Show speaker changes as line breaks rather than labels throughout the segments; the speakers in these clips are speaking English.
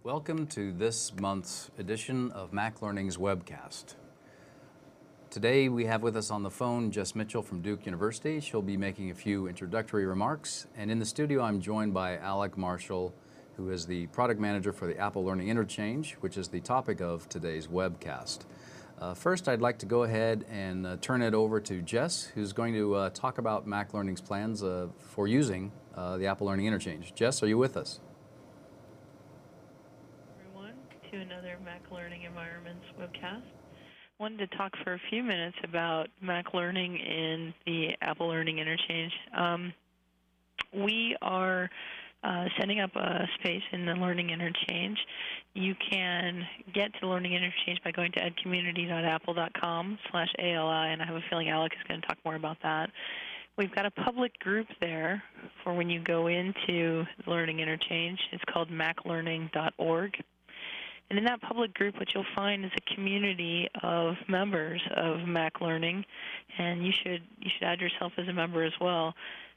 Welcome to this month's edition of Mac Learning's webcast. Today we have with us on the phone Jess Mitchell from Duke University. She'll be making a few introductory remarks. And in the studio I'm joined by Alec Marshall, who is the product manager for the Apple Learning Interchange, which is the topic of today's webcast. First, I'd like to go ahead and turn it over to Jess, who's going to talk about Mac Learning's plans for using the Apple Learning Interchange. Jess, are you with us?
To another Mac Learning Environments webcast. Wanted to talk for a few minutes about Mac Learning in the Apple Learning Interchange. We are setting up a space in the Learning Interchange. You can get to the Learning Interchange by going to edcommunity.apple.com/ALI, and I have a feeling Alec is going to talk more about that. We've got a public group there for when you go into the Learning Interchange. It's called maclearning.org. And in that public group, what you'll find is a community of members of Mac Learning, and you should add yourself as a member as well.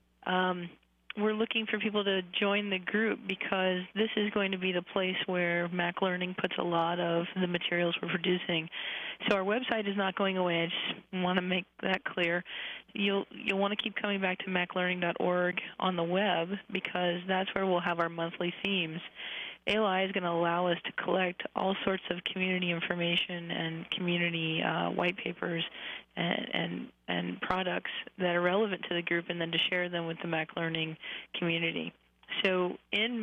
We're looking for people to join the group because this is going to be the place where Mac Learning puts a lot of the materials we're producing. So our website is not going away. I just want to make that clear. You'll want to keep coming back to maclearning.org on the web because that's where we'll have our monthly themes. ALI is going to allow us to collect all sorts of community information and community white papers and products that are relevant to the group, and then to share them with the Mac Learning community. So in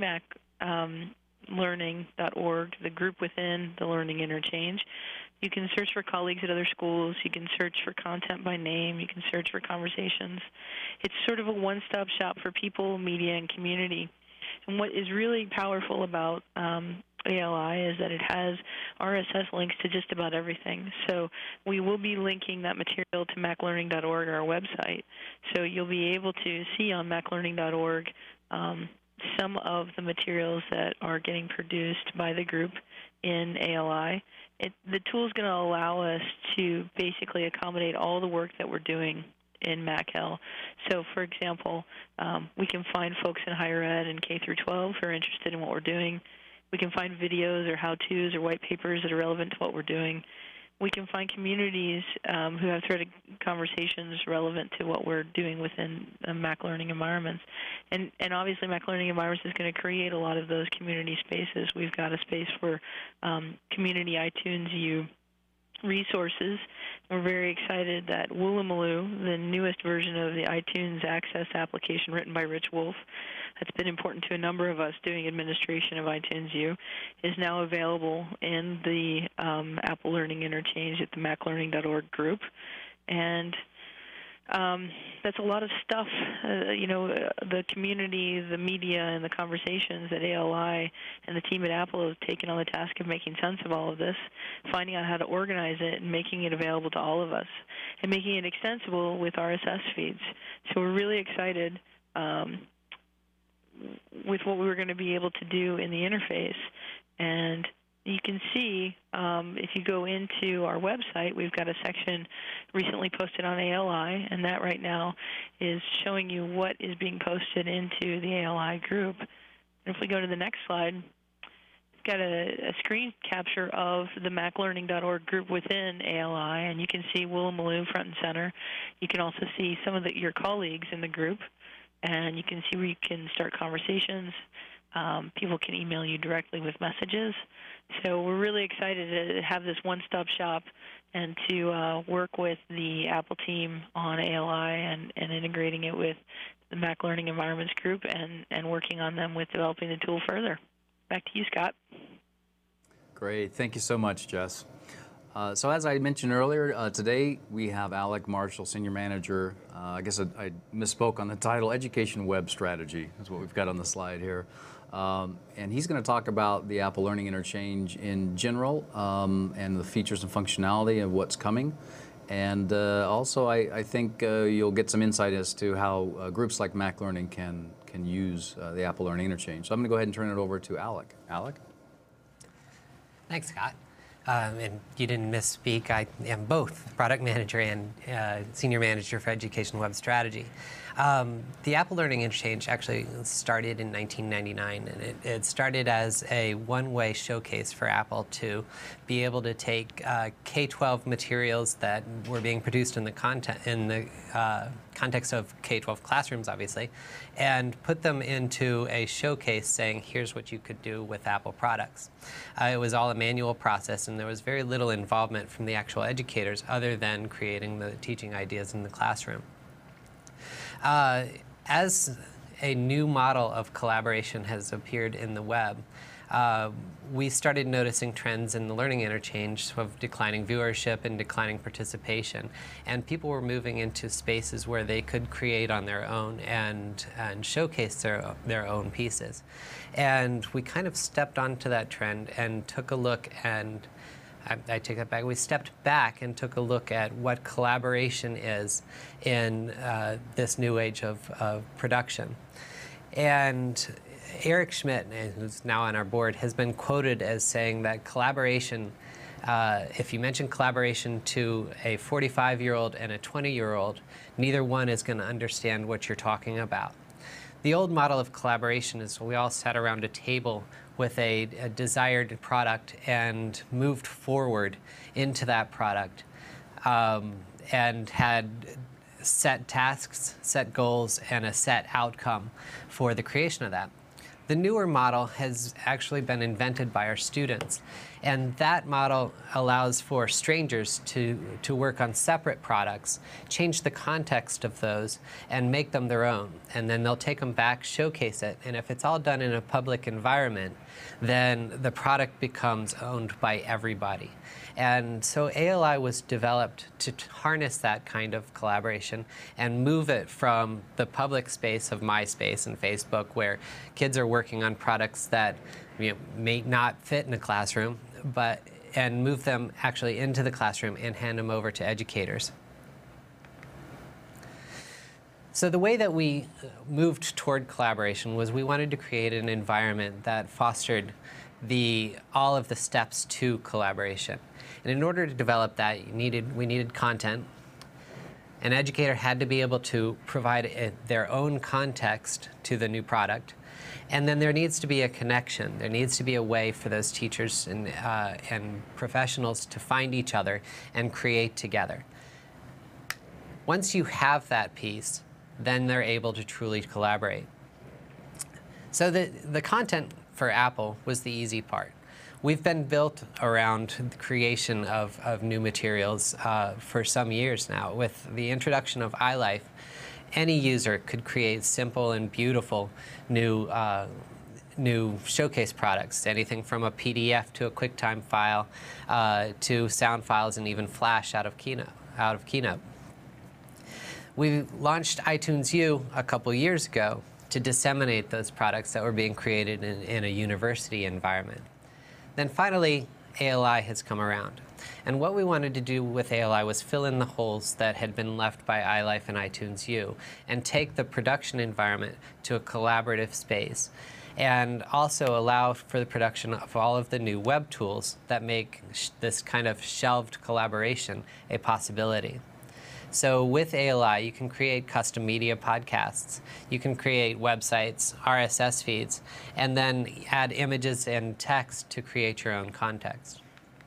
maclearning.org, the group within the Learning Interchange, you can search for colleagues at other schools. You can search for content by name. You can search for conversations. It's sort of a one-stop shop for people, media, and community. And what is really powerful about ALI is that it has RSS links to just about everything. So we will be linking that material to maclearning.org, our website. So you'll be able to see on maclearning.org some of the materials that are getting produced by the group in ALI. The tool is going to allow us to basically accommodate all the work that we're doing in MacL. So, for example, we can find folks in higher ed and K through 12 who are interested in what we're doing. We can find videos or how-tos or white papers that are relevant to what we're doing. We can find communities who have threaded conversations relevant to what we're doing within Mac Learning environments. And obviously Mac Learning environments is going to create a lot of those community spaces. We've got a space for community iTunes U resources. We're very excited that Woolloomooloo, the newest version of the iTunes Access application written by Rich Wolf, that's been important to a number of us doing administration of iTunes U, is now available in the Apple Learning Interchange at the maclearning.org group. And that's a lot of stuff, the community, the media, and the conversations that ALI and the team at Apple have taken on the task of making sense of all of this, finding out how to organize it and making it available to all of us, and making it extensible with RSS feeds. So we're really excited with what we were going to be able to do in the interface. And you can see, if you go into our website, we've got a section recently posted on ALI, and that right now is showing you what is being posted into the ALI group. And if we go to the next slide, we've got a screen capture of the maclearning.org group within ALI, and you can see Woolloomooloo front and center. You can also see some of your colleagues in the group, and you can see where you can start conversations. People can email you directly with messages. So we're really excited to have this one-stop shop and to work with the Apple team on ALI and integrating it with the Mac Learning Environments group and working on them with developing the tool further. Back to you, Scott.
Great. Thank you so much, Jess. So as I mentioned earlier, today we have Alec Marshall, Senior Manager. I guess I misspoke on the title, Education Web Strategy is what we've got on the slide here. And he's going to talk about the Apple Learning Interchange in general and the features and functionality of what's coming. And also, I think you'll get some insight as to how groups like Mac Learning can use the Apple Learning Interchange. So I'm going to go ahead and turn it over to Alec. Alec?
Thanks, Scott. And you didn't misspeak. I am both product manager and senior manager for Education Web Strategy. The Apple Learning Interchange actually started in 1999, and it started as a one-way showcase for Apple to be able to take K-12 materials that were being produced in the context of K-12 classrooms, obviously, and put them into a showcase saying, here's what you could do with Apple products. It was all a manual process, and there was very little involvement from the actual educators other than creating the teaching ideas in the classroom. As a new model of collaboration has appeared in the web, we started noticing trends in the learning interchange of declining viewership and declining participation. And people were moving into spaces where they could create on their own and showcase their own pieces. And we kind of stepped onto that trend and took a look, and I take that back. We stepped back and took a look at what collaboration is in this new age of production. And Eric Schmidt, who's now on our board, has been quoted as saying that collaboration, if you mention collaboration to a 45-year-old and a 20-year-old, neither one is going to understand what you're talking about. The old model of collaboration is we all sat around a table with a desired product and moved forward into that product and had set tasks, set goals, and a set outcome for the creation of that. The newer model has actually been invented by our students, and that model allows for strangers to work on separate products, change the context of those, and make them their own. And then they'll take them back, showcase it, and if it's all done in a public environment, then the product becomes owned by everybody. And so ALI was developed to harness that kind of collaboration and move it from the public space of MySpace and Facebook, where kids are working on products that may not fit in a classroom, and move them actually into the classroom and hand them over to educators. So the way that we moved toward collaboration was we wanted to create an environment that fostered all of the steps to collaboration. And in order to develop that, we needed content. An educator had to be able to provide their own context to the new product. And then there needs to be a connection. There needs to be a way for those teachers and professionals to find each other and create together. Once you have that piece, then they're able to truly collaborate. So the content for Apple was the easy part. We've been built around the creation of new materials for some years now. With the introduction of iLife, any user could create simple and beautiful new showcase products, anything from a PDF to a QuickTime file to sound files and even Flash out of Keynote. We launched iTunes U a couple years ago to disseminate those products that were being created in a university environment. Then finally, ALI has come around. And what we wanted to do with ALI was fill in the holes that had been left by iLife and iTunes U and take the production environment to a collaborative space, and also allow for the production of all of the new web tools that make this kind of shelved collaboration a possibility. So with ALI, you can create custom media podcasts, you can create websites, RSS feeds, and then add images and text to create your own context.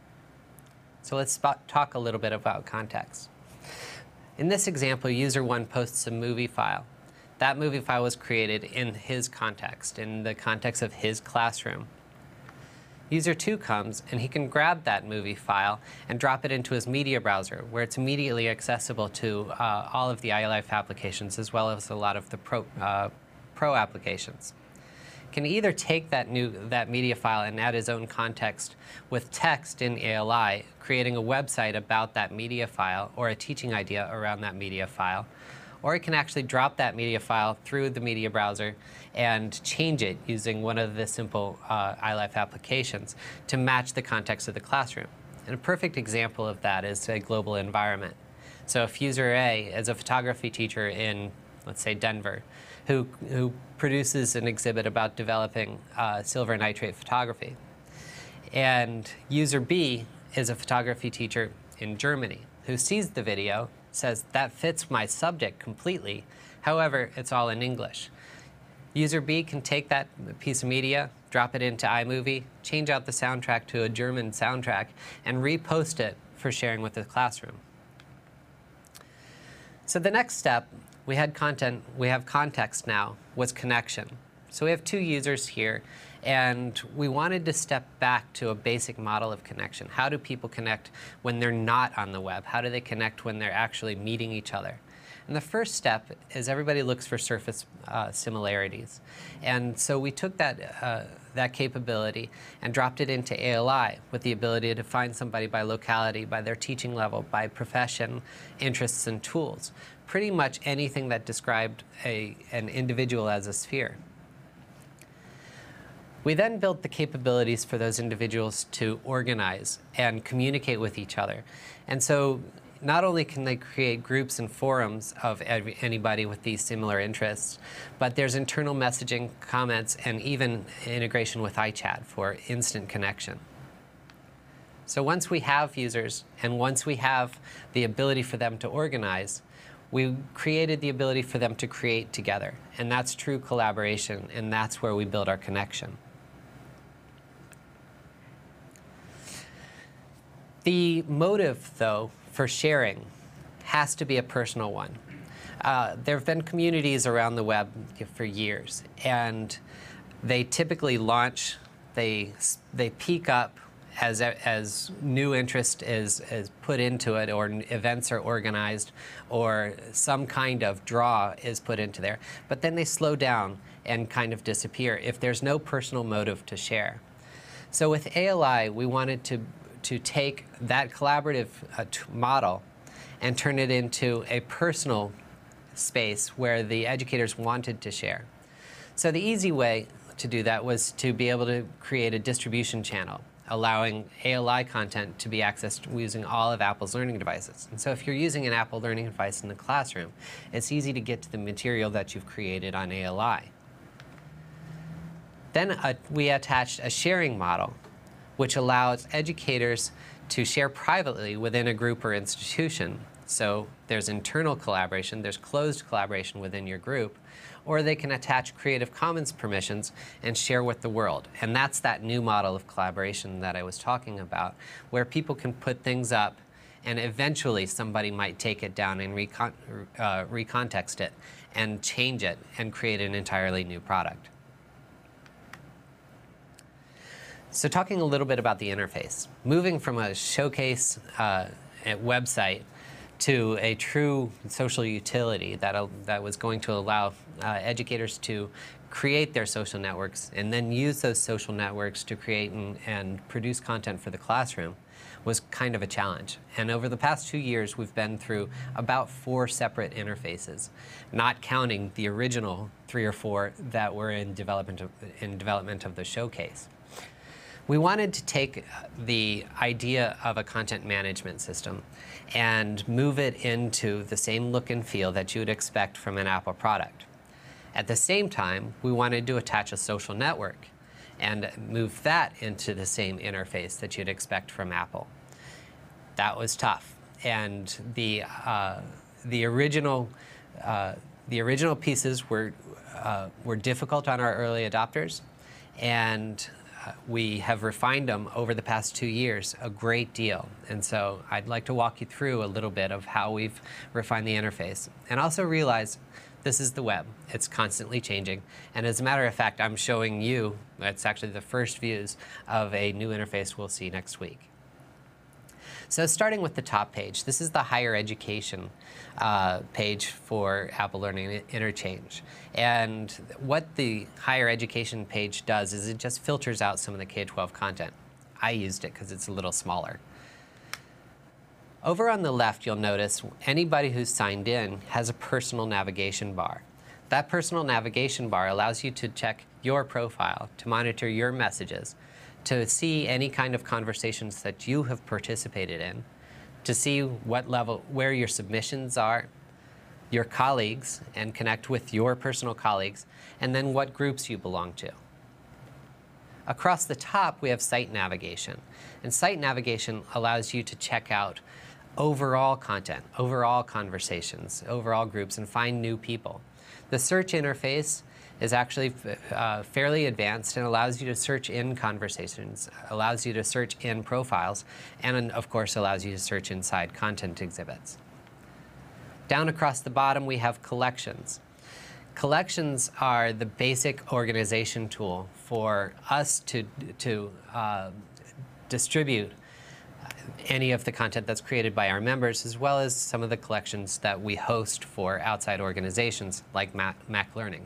So let's talk a little bit about context. In this example, user 1 posts a movie file. That movie file was created in his context, in the context of his classroom. User 2 comes, and he can grab that movie file and drop it into his media browser, where it's immediately accessible to all of the iLife applications, as well as a lot of the Pro applications. Can either take that media file and add his own context with text in ALI, creating a website about that media file or a teaching idea around that media file, or it can actually drop that media file through the media browser and change it using one of the simple iLife applications to match the context of the classroom. And a perfect example of that is a global environment. So if user A is a photography teacher in, let's say, Denver, who produces an exhibit about developing silver nitrate photography, and user B is a photography teacher in Germany who sees the video, says, that fits my subject completely, However, it's all in English. User B can take that piece of media, drop it into iMovie, change out the soundtrack to a German soundtrack, and repost it for sharing with the classroom. So the next step, we had content, we have context now, was connection. So we have two users here, and we wanted to step back to a basic model of connection. How do people connect when they're not on the web? How do they connect when they're actually meeting each other? And the first step is everybody looks for surface similarities. And so we took that capability and dropped it into ALI with the ability to find somebody by locality, by their teaching level, by profession, interests, and tools. Pretty much anything that described an individual as a sphere. We then built the capabilities for those individuals to organize and communicate with each other. And so not only can they create groups and forums of anybody with these similar interests, but there's internal messaging, comments, and even integration with iChat for instant connection. So once we have users, and once we have the ability for them to organize, we created the ability for them to create together. And that's true collaboration, and that's where we build our connection. The motive, though, for sharing has to be a personal one. There have been communities around the web for years, and they typically launch, they peak up as new interest is put into it, or events are organized, or some kind of draw is put into there. But then they slow down and kind of disappear if there's no personal motive to share. So with ALI, we wanted to take that collaborative model and turn it into a personal space where the educators wanted to share. So the easy way to do that was to be able to create a distribution channel, allowing ALI content to be accessed using all of Apple's learning devices. And so if you're using an Apple learning device in the classroom, it's easy to get to the material that you've created on ALI. Then we attached a sharing model, which allows educators to share privately within a group or institution. So there's internal collaboration, there's closed collaboration within your group, or they can attach Creative Commons permissions and share with the world. And that's that new model of collaboration that I was talking about, where people can put things up and eventually somebody might take it down and recontext it and change it and create an entirely new product. So talking a little bit about the interface, moving from a showcase website to a true social utility that was going to allow educators to create their social networks and then use those social networks to create and produce content for the classroom was kind of a challenge. And over the past 2 years, we've been through about 4 separate interfaces, not counting the original 3 or 4 that were in development of the showcase. We wanted to take the idea of a content management system and move it into the same look and feel that you would expect from an Apple product. At the same time, we wanted to attach a social network and move that into the same interface that you'd expect from Apple. That was tough, and the original pieces were difficult on our early adopters, and we have refined them over the past 2 years a great deal. And so I'd like to walk you through a little bit of how we've refined the interface. And also realize this is the web. It's constantly changing. And as a matter of fact, I'm showing you, it's actually the first views of a new interface we'll see next week. So starting with the top page, this is the higher education page for Apple Learning Interchange. And what the higher education page does is it just filters out some of the K-12 content. I used it because it's a little smaller. Over on the left, you'll notice anybody who's signed in has a personal navigation bar. That personal navigation bar allows you to check your profile, to monitor your messages, to see any kind of conversations that you have participated in, to see what level, where your submissions are, your colleagues, and connect with your personal colleagues, and then what groups you belong to. Across the top, we have site navigation. And site navigation allows you to check out overall content, overall conversations, overall groups, and find new people. The search interface is actually fairly advanced and allows you to search in conversations, allows you to search in profiles, and of course allows you to search inside content exhibits. Down across the bottom we have collections. Collections are the basic organization tool for us to distribute any of the content that's created by our members, as well as some of the collections that we host for outside organizations like Mac Learning.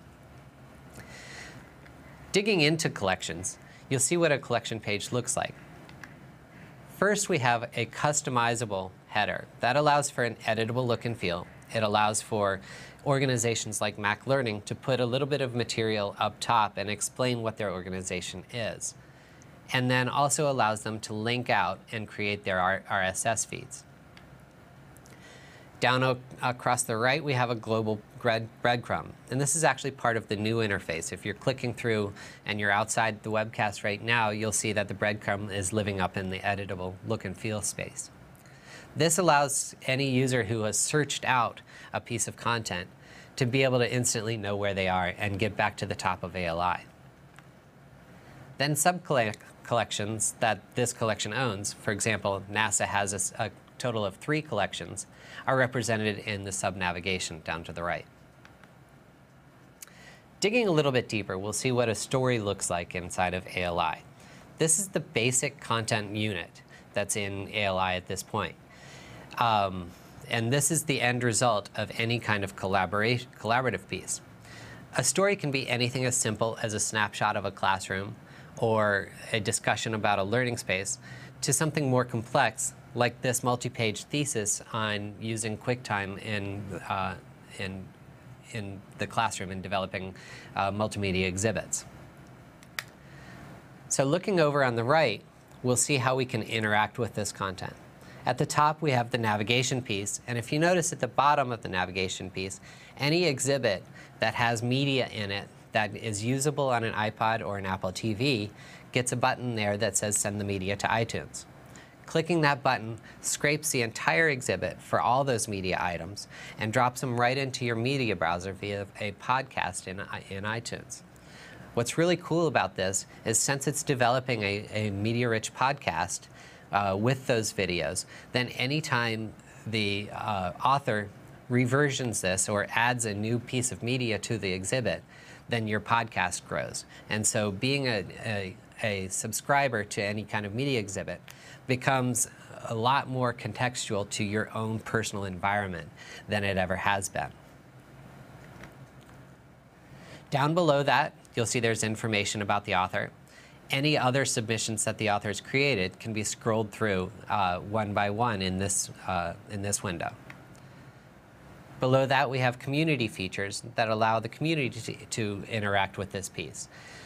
Digging into collections, you'll see what a collection page looks like. First, we have a customizable header. That allows for an editable look and feel. It allows for organizations like Mac Learning to put a little bit of material up top and explain what their organization is, and then also allows them to link out and create their RSS feeds. Down across the right, we have a global breadcrumb, and this is actually part of the new interface. If you're clicking through and you're outside the webcast right now, you'll see that the breadcrumb is living up in the editable look and feel space. This allows any user who has searched out a piece of content to be able to instantly know where they are and get back to the top of ALI. Then sub-collections that this collection owns, for example, NASA has a total of 3 collections, are represented in the sub-navigation down to the right. Digging a little bit deeper, we'll see what a story looks like inside of ALI. This is the basic content unit that's in ALI at this point. And this is the end result of any kind of collaborative piece. A story can be anything as simple as a snapshot of a classroom or a discussion about a learning space to something more complex like this multi-page thesis on using QuickTime in the classroom and developing multimedia exhibits. So looking over on the right, we'll see how we can interact with this content. At the top, we have the navigation piece, and if you notice at the bottom of the navigation piece, any exhibit that has media in it that is usable on an iPod or an Apple TV gets a button there that says Send the Media to iTunes. Clicking that button scrapes the entire exhibit for all those media items and drops them right into your media browser via a podcast in iTunes. What's really cool about this is since it's developing a media-rich podcast with those videos, then anytime the author reversions this or adds a new piece of media to the exhibit, then your podcast grows. And so being a subscriber to any kind of media exhibit becomes a lot more contextual to your own personal environment than it ever has been. Down below that, you'll see there's information about the author. Any other submissions that the author has created can be scrolled through one by one in this window. Below that, we have community features that allow the community to interact with this piece.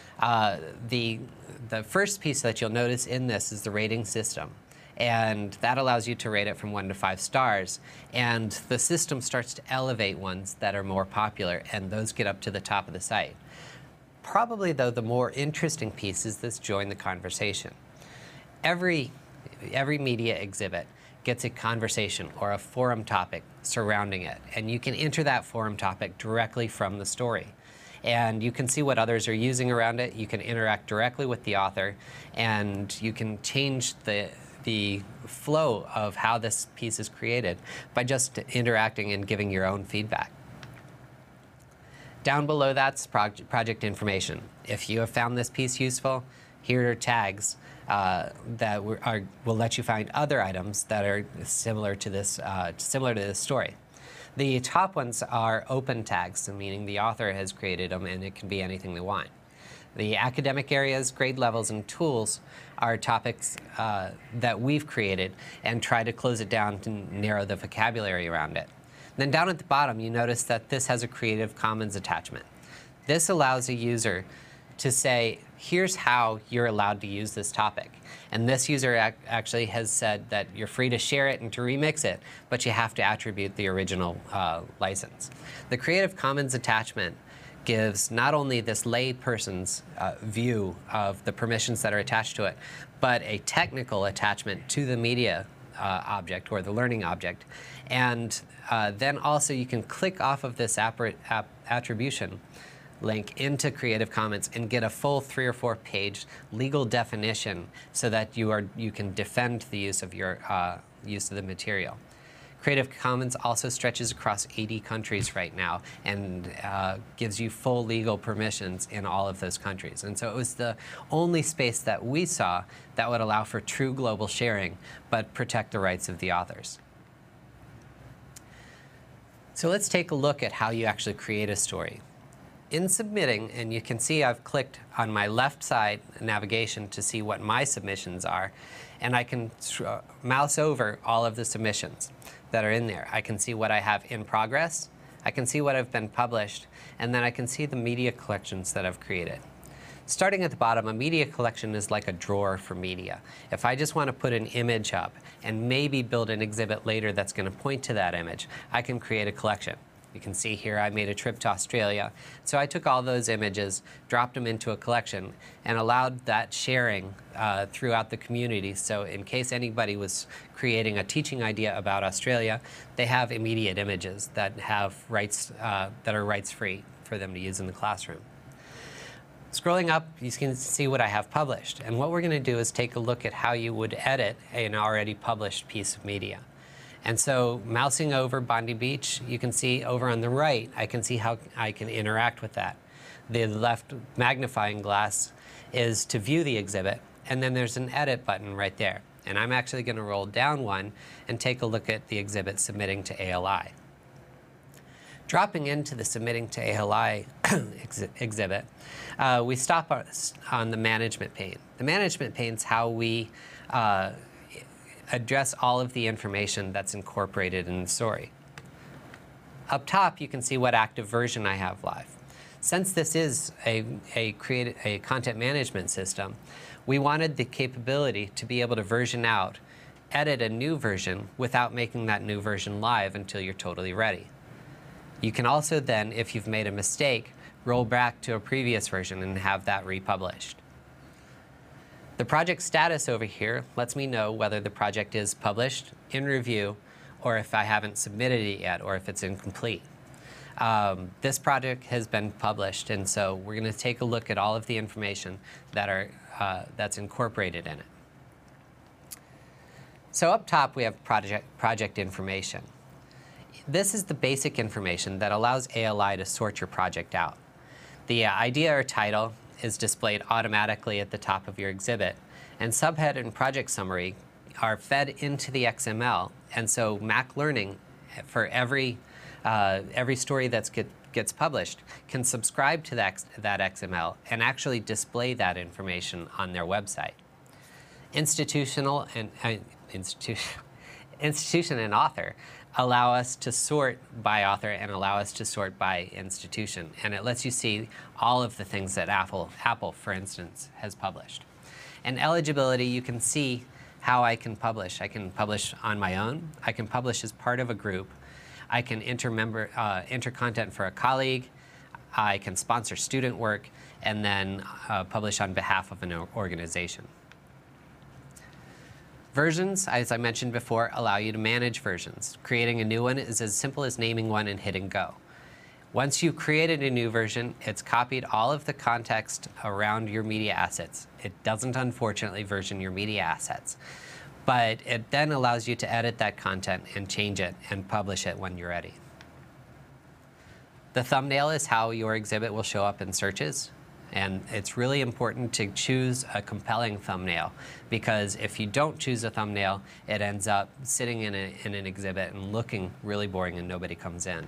The first piece that you'll notice in this is the rating system, and that allows you to rate it from 1 to 5 stars, and the system starts to elevate ones that are more popular, and those get up to the top of the site. Probably, though, the more interesting piece is this join the conversation. Every media exhibit gets a conversation or a forum topic surrounding it, and you can enter that forum topic directly from the story. And you can see what others are using around it. You can interact directly with the author, and you can change the flow of how this piece is created by just interacting and giving your own feedback. Down below that's project information. If you have found this piece useful, here are tags that will let you find other items that are similar to this story. The top ones are open tags, meaning the author has created them and it can be anything they want. The academic areas, grade levels, and tools are topics that we've created and try to close it down to narrow the vocabulary around it. Then down at the bottom, you notice that this has a Creative Commons attachment. This allows a user to say, here's how you're allowed to use this topic. And this user actually has said that you're free to share it and to remix it, but you have to attribute the original license. The Creative Commons attachment gives not only this lay person's view of the permissions that are attached to it, but a technical attachment to the media object or the learning object. And then also you can click off of this attribution link into Creative Commons and get a full 3 or 4 page legal definition so that you can defend the use of your use of the material. Creative Commons also stretches across 80 countries right now and gives you full legal permissions in all of those countries. And so it was the only space that we saw that would allow for true global sharing, but protect the rights of the authors. So let's take a look at how you actually create a story. In submitting, and you can see I've clicked on my left side navigation to see what my submissions are, and I can mouse over all of the submissions that are in there. I can see what I have in progress, I can see what have been published, and then I can see the media collections that I've created. Starting at the bottom, a media collection is like a drawer for media. If I just want to put an image up and maybe build an exhibit later that's going to point to that image, I can create a collection. You can see here I made a trip to Australia. So I took all those images, dropped them into a collection, and allowed that sharing throughout the community. So in case anybody was creating a teaching idea about Australia, they have immediate images that have rights that are rights-free for them to use in the classroom. Scrolling up, you can see what I have published. And what we're going to do is take a look at how you would edit an already published piece of media. And so mousing over Bondi Beach, you can see over on the right, I can see how I can interact with that. The left magnifying glass is to view the exhibit, and then there's an edit button right there. And I'm actually going to roll down one and take a look at the exhibit submitting to ALI. Dropping into the submitting to ALI exhibit, we stop on the management pane. The management pane is how we address all of the information that's incorporated in the story. Up top, you can see what active version I have live. Since this is a content management system, we wanted the capability to be able to version out, edit a new version without making that new version live until you're totally ready. You can also then, if you've made a mistake, roll back to a previous version and have that republished. The project status over here lets me know whether the project is published, in review, or if I haven't submitted it yet, or if it's incomplete. This project has been published, and so we're going to take a look at all of the information that's incorporated in it. So up top, we have project information. This is the basic information that allows ALI to sort your project out. The idea or title is displayed automatically at the top of your exhibit, and subhead and project summary are fed into the XML, and so Mac Learning, for every story that gets published, can subscribe to that XML and actually display that information on their website. Institution and author allow us to sort by author and allow us to sort by institution. And it lets you see all of the things that Apple, for instance, has published. And eligibility, you can see how I can publish. I can publish on my own. I can publish as part of a group. I can enter content for a colleague. I can sponsor student work, and then publish on behalf of an organization. Versions, as I mentioned before, allow you to manage versions. Creating a new one is as simple as naming one and hitting go. Once you've created a new version, it's copied all of the context around your media assets. It doesn't, unfortunately, version your media assets, but it then allows you to edit that content and change it and publish it when you're ready. The thumbnail is how your exhibit will show up in searches. And it's really important to choose a compelling thumbnail, because if you don't choose a thumbnail, it ends up sitting in an exhibit and looking really boring and nobody comes in.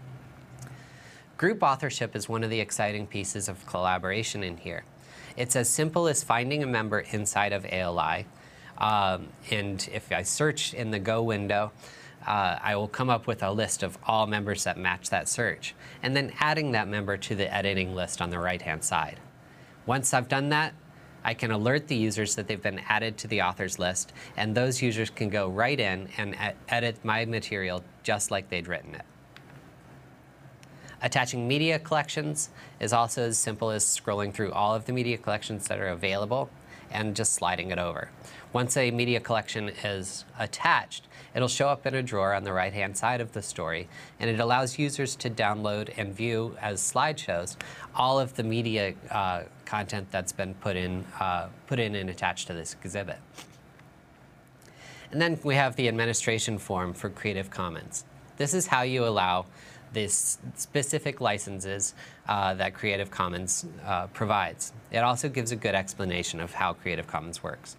Group authorship is one of the exciting pieces of collaboration in here. It's as simple as finding a member inside of ALI. And if I search in the Go window, I will come up with a list of all members that match that search, and then adding that member to the editing list on the right-hand side. Once I've done that, I can alert the users that they've been added to the authors list, and those users can go right in and edit my material just like they'd written it. Attaching media collections is also as simple as scrolling through all of the media collections that are available and just sliding it over. Once a media collection is attached, it'll show up in a drawer on the right-hand side of the story, and it allows users to download and view as slideshows all of the media content that's been put in and attached to this exhibit. And then we have the administration form for Creative Commons. This is how you allow these specific licenses that Creative Commons provides. It also gives a good explanation of how Creative Commons works.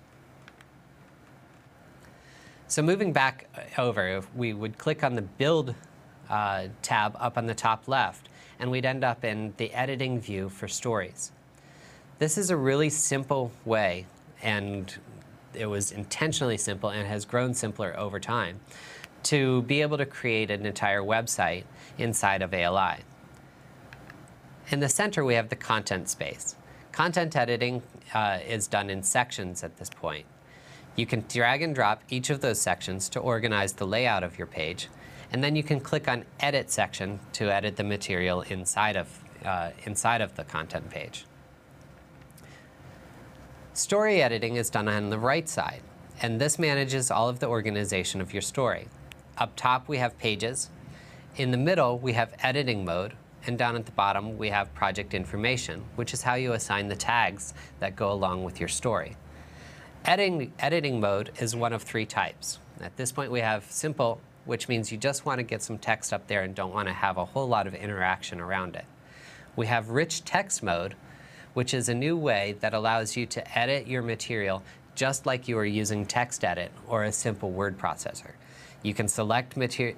So moving back over, if we would click on the Build tab up on the top left, and we'd end up in the editing view for stories. This is a really simple way, and it was intentionally simple and has grown simpler over time, to be able to create an entire website inside of ALI. In the center, we have the content space. Content editing is done in sections at this point. You can drag and drop each of those sections to organize the layout of your page, and then you can click on Edit section to edit the material inside of the content page. Story editing is done on the right side, and this manages all of the organization of your story. Up top, we have pages. In the middle, we have editing mode, and down at the bottom, we have project information, which is how you assign the tags that go along with your story. Editing mode is one of 3 types. At this point, we have simple, which means you just want to get some text up there and don't want to have a whole lot of interaction around it. We have rich text mode, which is a new way that allows you to edit your material just like you are using TextEdit or a simple word processor. You can select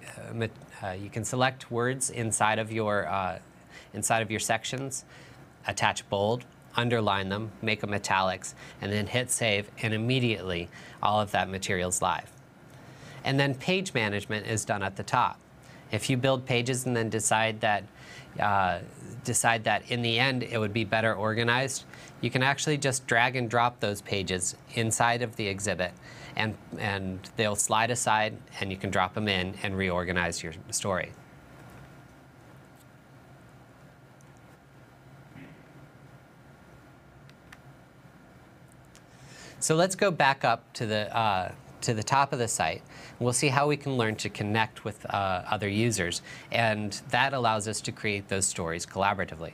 words inside of your sections, attach bold, underline them, make them italics, and then hit save, and immediately all of that material's live. And then page management is done at the top. If you build pages and then decide that in the end it would be better organized, you can actually just drag and drop those pages inside of the exhibit, and they'll slide aside, and you can drop them in and reorganize your story. So let's go back up to the top of the site. We'll see how we can learn to connect with other users, and that allows us to create those stories collaboratively.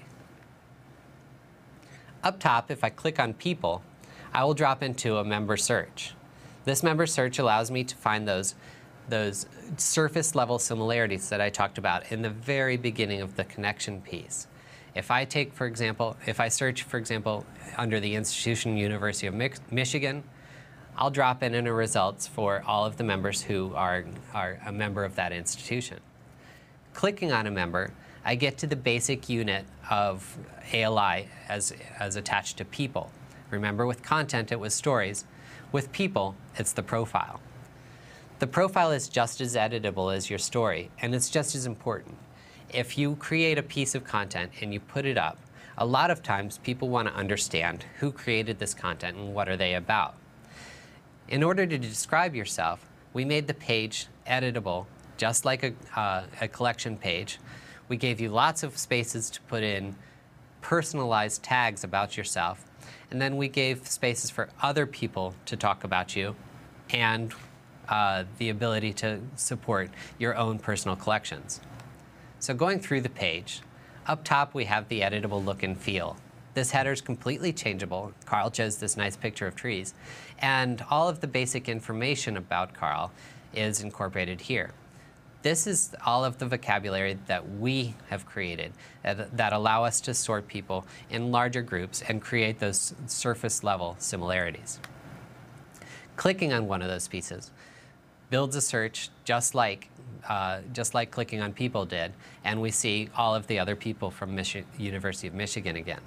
Up top, if I click on People, I will drop into a member search. This member search allows me to find those surface level similarities that I talked about in the very beginning of the connection piece. If I search, for example, under the institution University of Michigan, I'll drop in the results for all of the members who are a member of that institution. Clicking on a member, I get to the basic unit of ALI as attached to people. Remember, with content, it was stories. With people, it's the profile. The profile is just as editable as your story, and it's just as important. If you create a piece of content and you put it up, a lot of times people want to understand who created this content and what are they about. In order to describe yourself, we made the page editable, just like a collection page. We gave you lots of spaces to put in personalized tags about yourself, and then we gave spaces for other people to talk about you, and the ability to support your own personal collections. So going through the page, up top we have the editable look and feel. This header is completely changeable. Carl chose this nice picture of trees, and all of the basic information about Carl is incorporated here. This is all of the vocabulary that we have created that allow us to sort people in larger groups and create those surface level similarities. Clicking on one of those pieces builds a search just like clicking on people did, and we see all of the other people from University of Michigan again.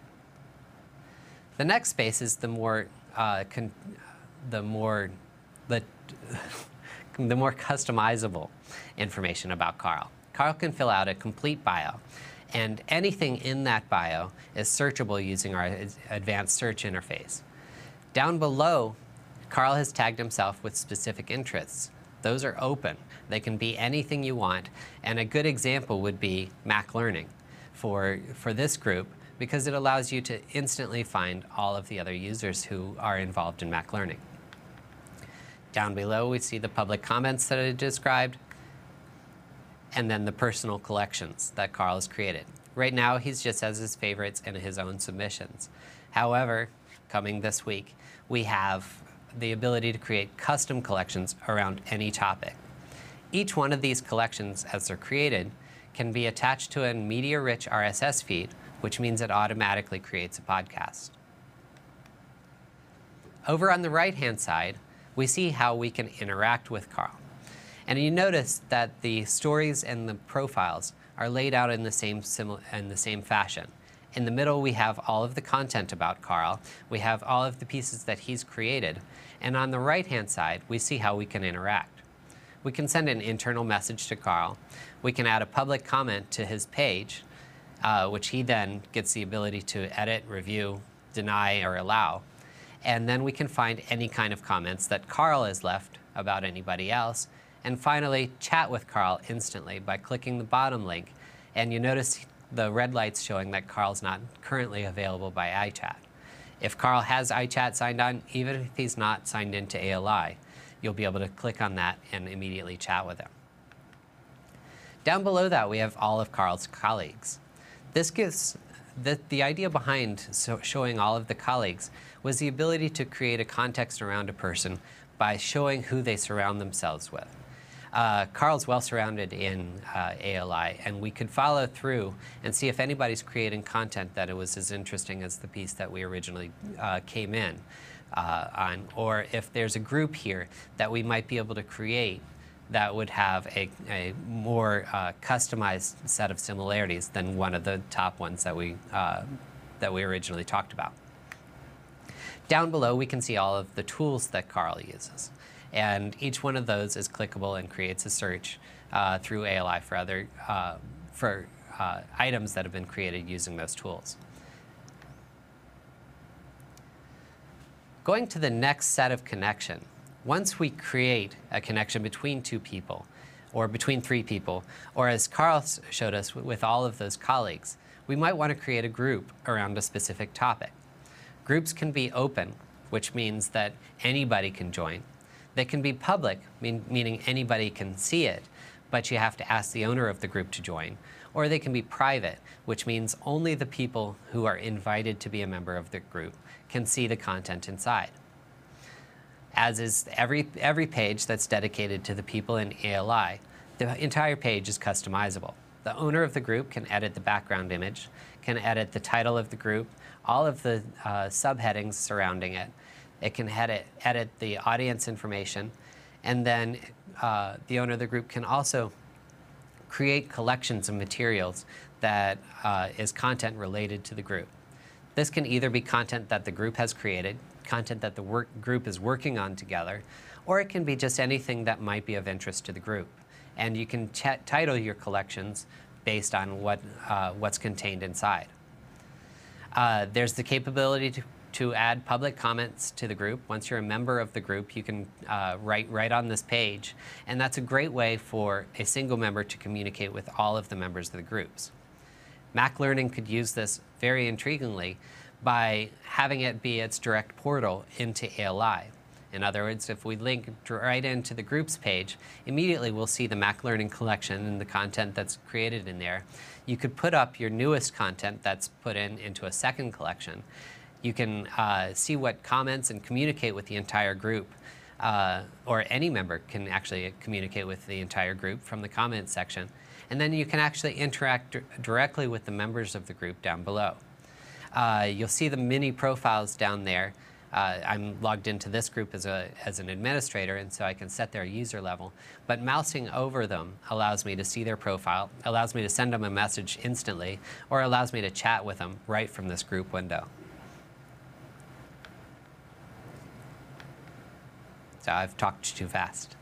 The next space is the more customizable information about Carl. Carl can fill out a complete bio, and anything in that bio is searchable using our advanced search interface. Down below, Carl has tagged himself with specific interests. Those are open. They can be anything you want, and a good example would be Mac Learning. For this group, because it allows you to instantly find all of the other users who are involved in Mac Learning. Down below, we see the public comments that I described, and then the personal collections that Carl has created. Right now, he just has his favorites and his own submissions. However, coming this week, we have the ability to create custom collections around any topic. Each one of these collections, as they're created, can be attached to a media-rich RSS feed, which means it automatically creates a podcast. Over on the right-hand side, we see how we can interact with Carl. And you notice that the stories and the profiles are laid out in the same fashion. In the middle, we have all of the content about Carl. We have all of the pieces that he's created. And on the right-hand side, we see how we can interact. We can send an internal message to Carl. We can add a public comment to his page, which he then gets the ability to edit, review, deny, or allow. And then we can find any kind of comments that Carl has left about anybody else. And finally, chat with Carl instantly by clicking the bottom link. And you notice the red lights showing that Carl's not currently available by iChat. If Carl has iChat signed on, even if he's not signed into ALI, you'll be able to click on that and immediately chat with him. Down below that, we have all of Carl's colleagues. This gives the idea behind showing all of the colleagues was the ability to create a context around a person by showing who they surround themselves with. Carl's well surrounded in ALI, and we could follow through and see if anybody's creating content that it was as interesting as the piece that we originally came in on, or if there's a group here that we might be able to create that would have a more customized set of similarities than one of the top ones that we originally talked about. Down below, we can see all of the tools that Carl uses. And each one of those is clickable and creates a search through ALI for other items that have been created using those tools. Going to the next set of connection, once we create a connection between two people, or between three people, or as Carl showed us with all of those colleagues, we might want to create a group around a specific topic. Groups can be open, which means that anybody can join. They can be public, meaning anybody can see it, but you have to ask the owner of the group to join. Or they can be private, which means only the people who are invited to be a member of the group can see the content inside. As is every page that's dedicated to the people in ALI, the entire page is customizable. The owner of the group can edit the background image, can edit the title of the group, all of the subheadings surrounding it. It can edit the audience information, and then the owner of the group can also create collections of materials that is content related to the group. This can either be content that the group has created, content that the group is working on together, or it can be just anything that might be of interest to the group. And you can title your collections based on what's contained inside. There's the capability to add public comments to the group. Once you're a member of the group, you can write right on this page. And that's a great way for a single member to communicate with all of the members of the groups. Mac Learning could use this very intriguingly by having it be its direct portal into ALI. In other words, if we link right into the groups page, immediately we'll see the Mac Learning collection and the content that's created in there. You could put up your newest content that's put into a second collection. You can see what comments and communicate with the entire group, or any member can actually communicate with the entire group from the comments section. And then you can actually interact directly with the members of the group down below. You'll see the mini profiles down there. I'm logged into this group as an administrator, and so I can set their user level. But mousing over them allows me to see their profile, allows me to send them a message instantly, or allows me to chat with them right from this group window. So I've talked too fast.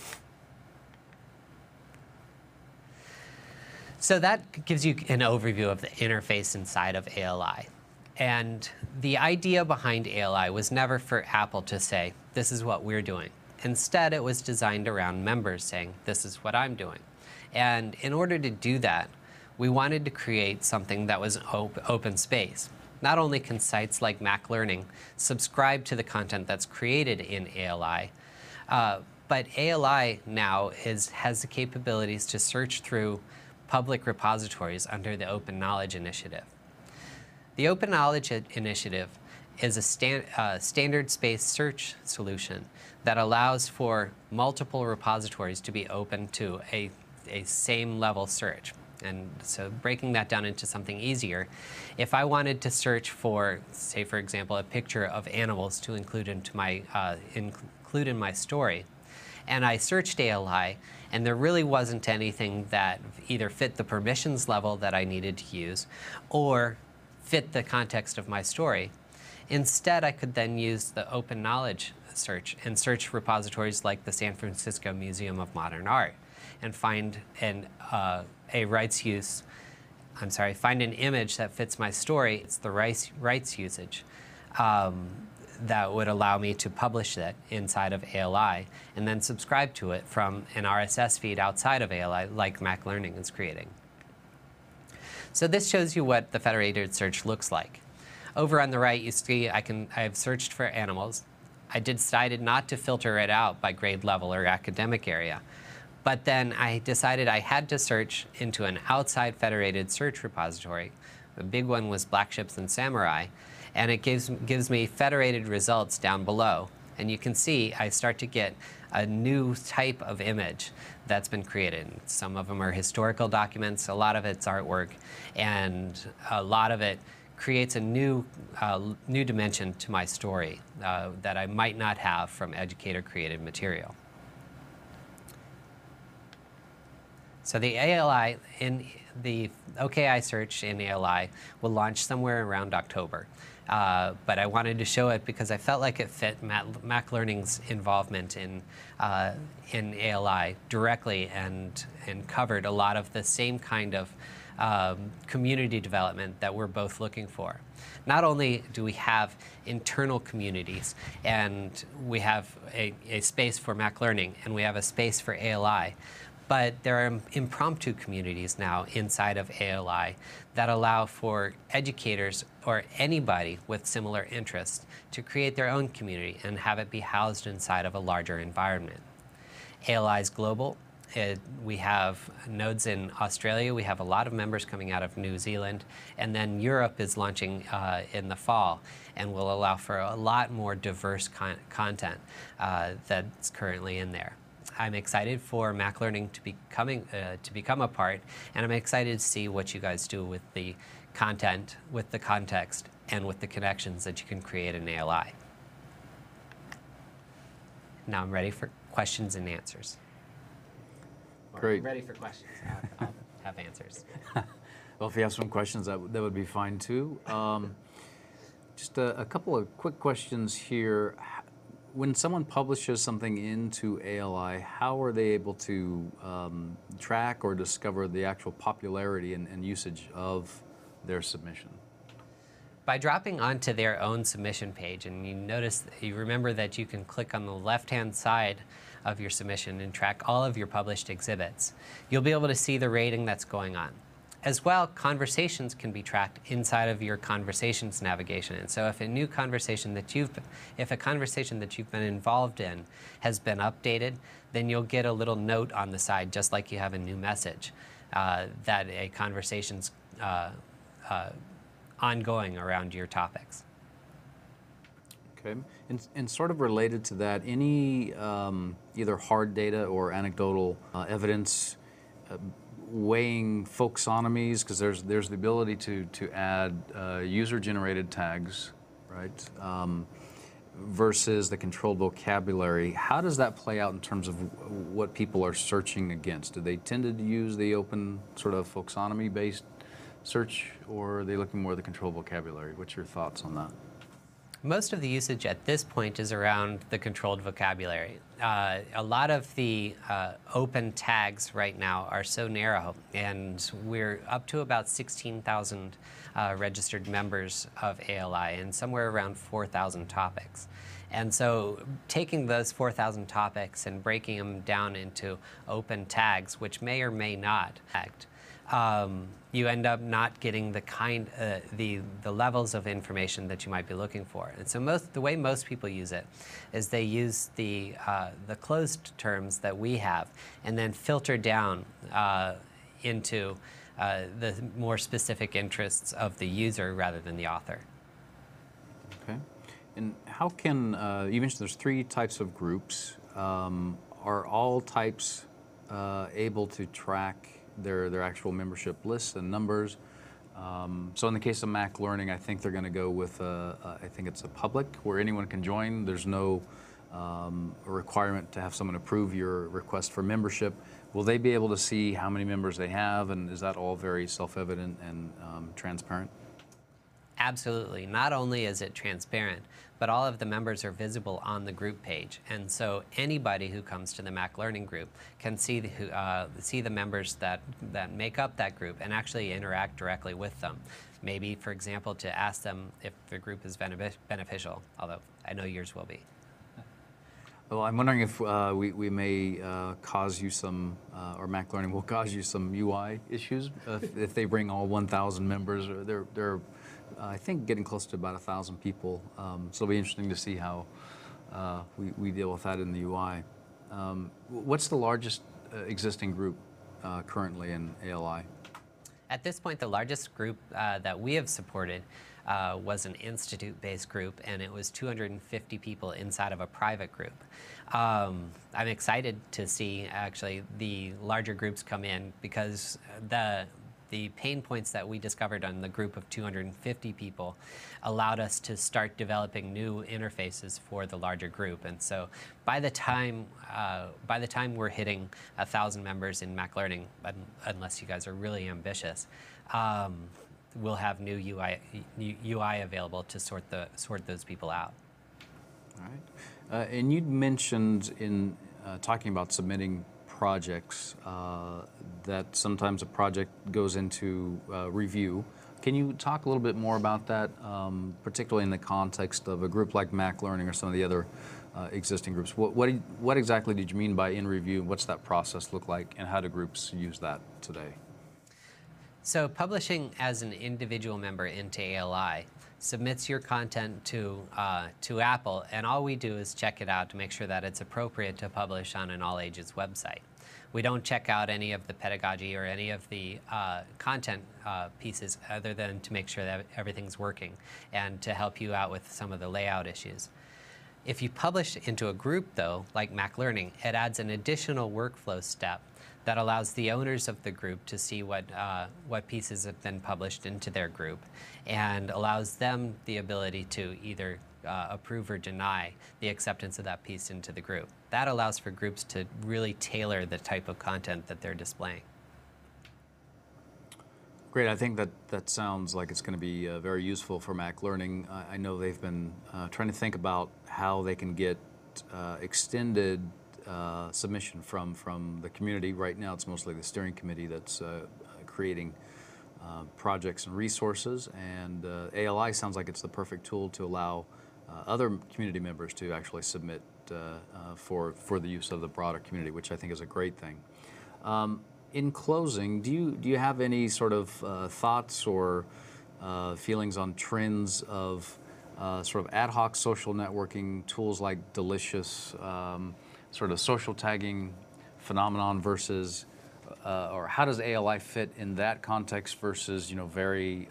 So that gives you an overview of the interface inside of ALI. And the idea behind ALI was never for Apple to say, this is what we're doing. Instead, it was designed around members saying, this is what I'm doing. And in order to do that, we wanted to create something that was open space. Not only can sites like Mac Learning subscribe to the content that's created in ALI, but ALI now has the capabilities to search through public repositories under the Open Knowledge Initiative. The Open Knowledge Initiative is a standard space search solution that allows for multiple repositories to be open to a same level search. And so breaking that down into something easier, if I wanted to search for, say for example, a picture of animals to include into my include in my story, and I searched ALI, and there really wasn't anything that either fit the permissions level that I needed to use or fit the context of my story. Instead, I could then use the open knowledge search and search repositories like the San Francisco Museum of Modern Art and find find an image that fits my story. It's the rights usage that would allow me to publish it inside of ALI and then subscribe to it from an RSS feed outside of ALI like Mac Learning is creating. So this shows you what the federated search looks like. Over on the right, you see I have searched for animals. I decided not to filter it out by grade level or academic area. But then I decided I had to search into an outside federated search repository. The big one was Black Ships and Samurai. And it gives me federated results down below. And you can see I start to get a new type of image that's been created. Some of them are historical documents, a lot of it's artwork, and a lot of it creates a new dimension to my story that I might not have from educator-created material. So the ALI, in the OKI search in ALI will launch somewhere around October. But I wanted to show it because I felt like it fit Mac Learning's involvement in ALI directly and covered a lot of the same kind of community development that we're both looking for. Not only do we have internal communities and we have a space for Mac Learning and we have a space for ALI, but there are impromptu communities now inside of ALI that allow for educators or anybody with similar interests to create their own community and have it be housed inside of a larger environment. ALI is global. We have nodes in Australia. We have a lot of members coming out of New Zealand. And then Europe is launching in the fall and will allow for a lot more diverse content that's currently in there. I'm excited for Mac Learning to become a part, and I'm excited to see what you guys do with the content, with the context, and with the connections that you can create in ALI. Now I'm ready for questions and answers.
Great.
I'm ready for questions. I'll have answers.
Well, if you have some questions, that would be fine too. Just a couple of quick questions here. When someone publishes something into ALI, how are they able to track or discover the actual popularity and usage of their submission?
By dropping onto their own submission page, and you remember that you can click on the left-hand side of your submission and track all of your published exhibits, you'll be able to see the rating that's going on. As well, conversations can be tracked inside of your conversations navigation. And so if a conversation that you've been involved in has been updated, then you'll get a little note on the side, just like you have a new message, that a conversation's ongoing around your topics.
Okay, and sort of related to that, any either hard data or anecdotal evidence weighing folksonomies, because there's the ability to add user-generated tags, right, versus the controlled vocabulary. How does that play out in terms of what people are searching against? Do they tend to use the open sort of folksonomy-based search, or are they looking more at the controlled vocabulary? What's your thoughts on that?
Most of the usage at this point is around the controlled vocabulary. A lot of the open tags right now are so narrow, and we're up to about 16,000 registered members of ALI and somewhere around 4,000 topics. And so taking those 4,000 topics and breaking them down into open tags, which may or may not act, you end up not getting the levels of information that you might be looking for. And so the way most people use it is they use the closed terms that we have and then filter down into the more specific interests of the user rather than the author.
Okay. And how can, you mentioned there's 3 types of groups. Are all types able to track their actual membership lists and numbers? So in the case of Mac Learning, I think they're going to go with, I think it's a public where anyone can join. There's no requirement to have someone approve your request for membership. Will they be able to see how many members they have, and is that all very self-evident and transparent?
Absolutely. Not only is it transparent, but all of the members are visible on the group page. And so anybody who comes to the Mac Learning group can see the members that make up that group and actually interact directly with them. Maybe, for example, to ask them if the group is beneficial, although I know yours will be.
Well, I'm wondering if we may cause you some, or Mac Learning will cause you some UI issues if they bring all 1,000 members. They're I think getting close to about 1,000 people. So it'll be interesting to see how we deal with that in the UI. What's the largest existing group currently in ALI?
At this point, the largest group that we have supported was an institute-based group, and it was 250 people inside of a private group. I'm excited to see actually the larger groups come in because the pain points that we discovered on the group of 250 people allowed us to start developing new interfaces for the larger group. And so by the time we're hitting 1,000 members in Mac Learning, unless you guys are really ambitious, we'll have new UI available to sort those people out.
All right. And you'd mentioned in talking about submitting projects that sometimes a project goes into review. Can you talk a little bit more about that, particularly in the context of a group like Mac Learning or some of the other existing groups? What exactly did you mean by in review? What's that process look like, and how do groups use that today?
So publishing as an individual member into ALI submits your content to Apple, and all we do is check it out to make sure that it's appropriate to publish on an all ages website. We don't check out any of the pedagogy or any of the content pieces other than to make sure that everything's working and to help you out with some of the layout issues. If you publish into a group, though, like Mac Learning, it adds an additional workflow step that allows the owners of the group to see what pieces have been published into their group and allows them the ability to either approve or deny the acceptance of that piece into the group. That allows for groups to really tailor the type of content that they're displaying.
Great. I think that sounds like it's going to be very useful for Mac Learning. I know they've been trying to think about how they can get extended submission from the community. Right now it's mostly the steering committee that's creating projects and resources, and ALI sounds like it's the perfect tool to allow other community members to actually submit for the use of the broader community, which I think is a great thing. In closing, do you have any sort of thoughts or feelings on trends of sort of ad hoc social networking tools like Delicious, sort of social tagging phenomenon versus, or how does ALI fit in that context versus, very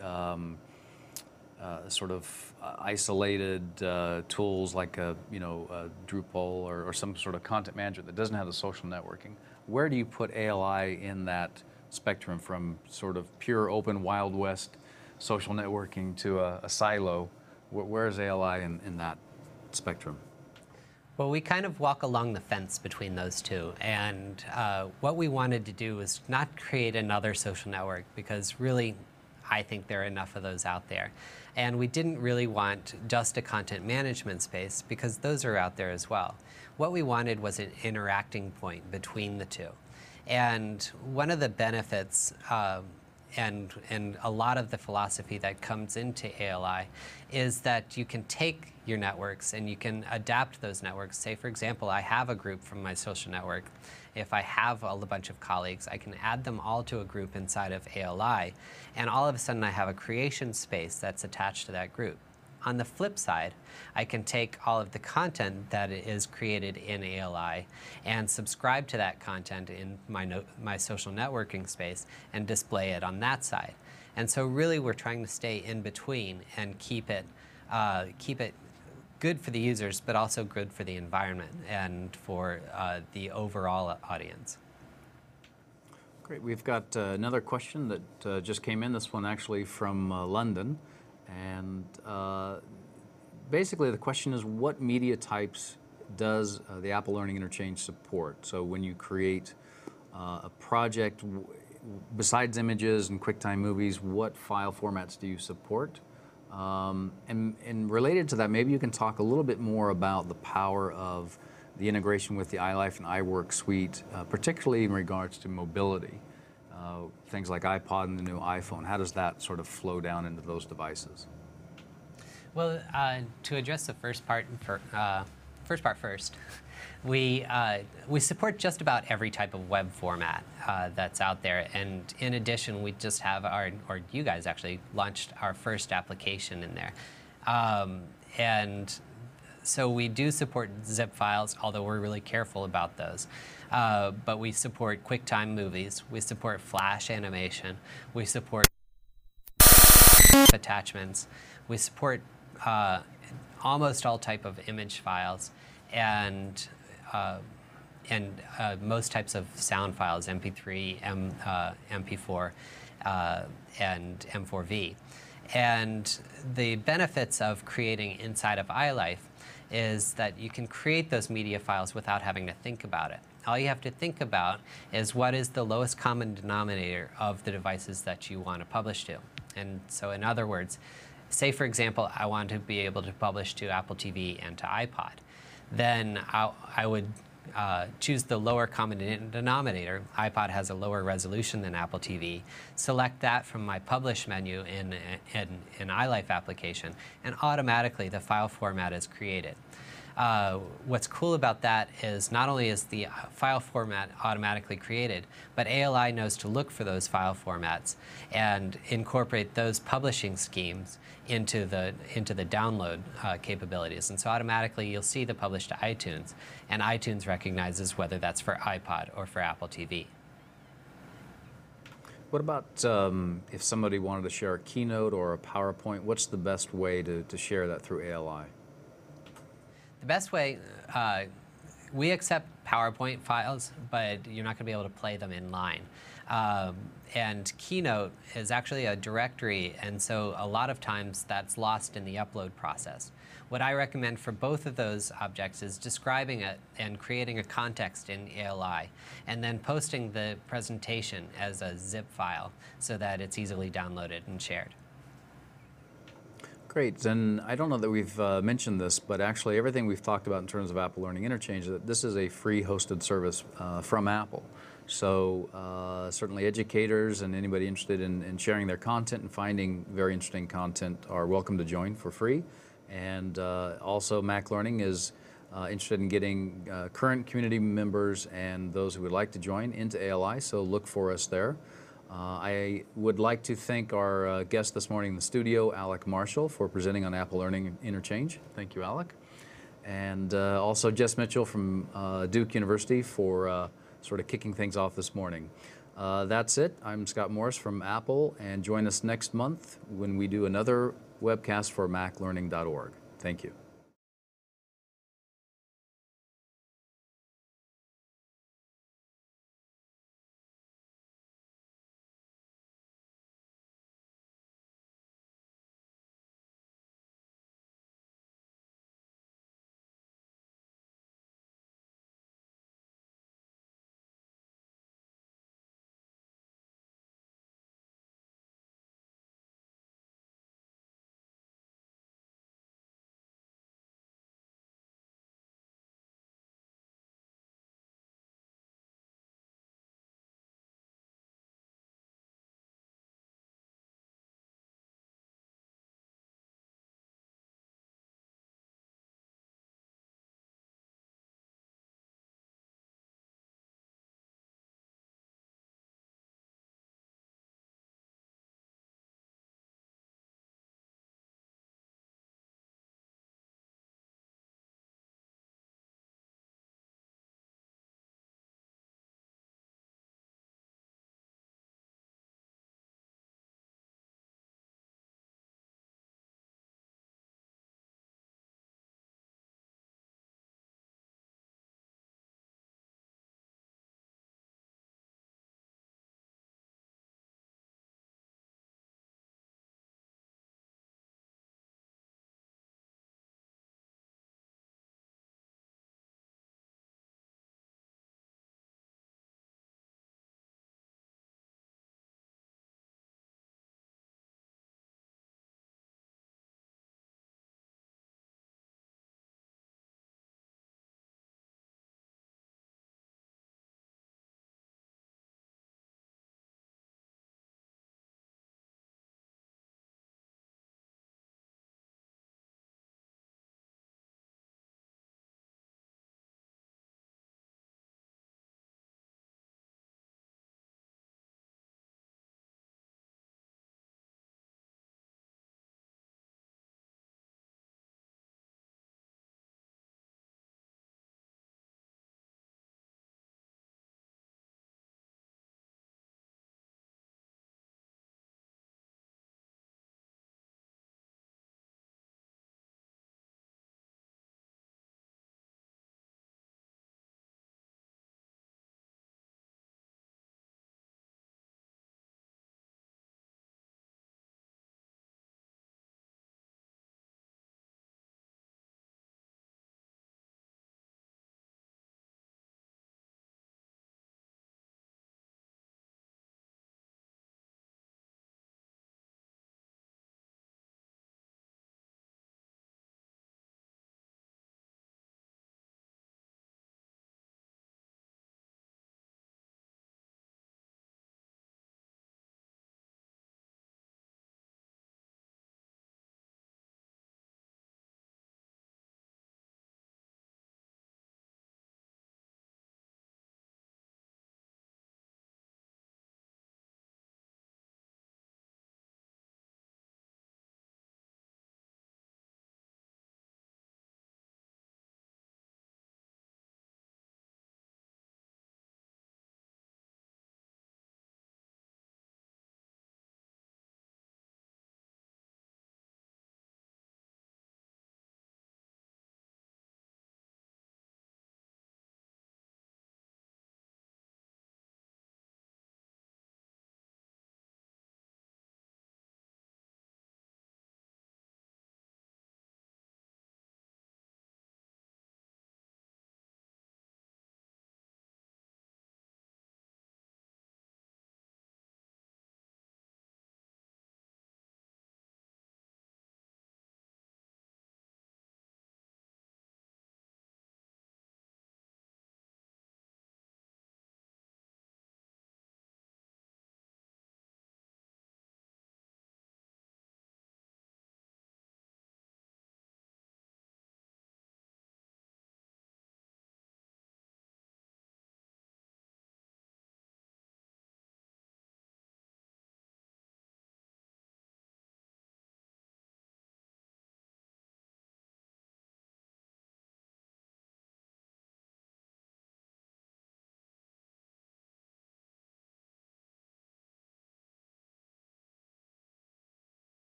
sort of isolated tools like a Drupal or some sort of content manager that doesn't have the social networking? Where do you put ALI in that spectrum from sort of pure open Wild West social networking to a silo? Where is ALI in that spectrum?
Well, we kind of walk along the fence between those two, and what we wanted to do was not create another social network because really I think there are enough of those out there. And we didn't really want just a content management space because those are out there as well. What we wanted was an interacting point between the two. And one of the benefits and a lot of the philosophy that comes into ALI is that you can take your networks and you can adapt those networks. Say, for example, I have a group from my social network. If I have a bunch of colleagues, I can add them all to a group inside of ALI, and all of a sudden I have a creation space that's attached to that group. On the flip side, I can take all of the content that is created in ALI and subscribe to that content in my social networking space and display it on that side. And so really we're trying to stay in between and keep it good for the users, but also good for the environment and for the overall audience.
Great. We've got another question that just came in, this one actually from London. And basically the question is, what media types does the Apple Learning Interchange support? So when you create a project, besides images and QuickTime movies, what file formats do you support? And related to that, maybe you can talk a little bit more about the power of the integration with the iLife and iWork suite, particularly in regards to mobility. Things like iPod and the new iPhone, how does that sort of flow down into those devices?
Well, to address the first part first, we support just about every type of web format that's out there, and in addition, we just have or you guys actually launched our first application in there, and so we do support zip files, although we're really careful about those. But we support QuickTime movies, we support Flash animation, we support attachments, we support almost all type of image files, and most types of sound files, MP3, MP4, and M4V. And the benefits of creating inside of iLife is that you can create those media files without having to think about it. All you have to think about is what is the lowest common denominator of the devices that you want to publish to. And so in other words, say for example, I want to be able to publish to Apple TV and to iPod. Then I would choose the lower common denominator. iPod has a lower resolution than Apple TV. Select that from my Publish menu in iLife application, and automatically the file format is created. What's cool about that is not only is the file format automatically created, but ALI knows to look for those file formats and incorporate those publishing schemes into the download capabilities. And so automatically you'll see the publish to iTunes, and iTunes recognizes whether that's for iPod or for Apple TV.
What about if somebody wanted to share a Keynote or a PowerPoint, what's the best way to share that through ALI?
The best way, we accept PowerPoint files, but you're not going to be able to play them in line. And Keynote is actually a directory, and so a lot of times that's lost in the upload process. What I recommend for both of those objects is describing it and creating a context in ALI, and then posting the presentation as a zip file so that it's easily downloaded and shared.
Great, and I don't know that we've mentioned this, but actually everything we've talked about in terms of Apple Learning Interchange, that this is a free hosted service from Apple. So certainly educators and anybody interested in sharing their content and finding very interesting content are welcome to join for free. And also Mac Learning is interested in getting current community members and those who would like to join into ALI, so look for us there. I would like to thank our guest this morning in the studio, Alec Marshall, for presenting on Apple Learning Interchange. Thank you, Alec. And also Jess Mitchell from Duke University for sort of kicking things off this morning. That's it. I'm Scott Morris from Apple, and join us next month when we do another webcast for maclearning.org. Thank you.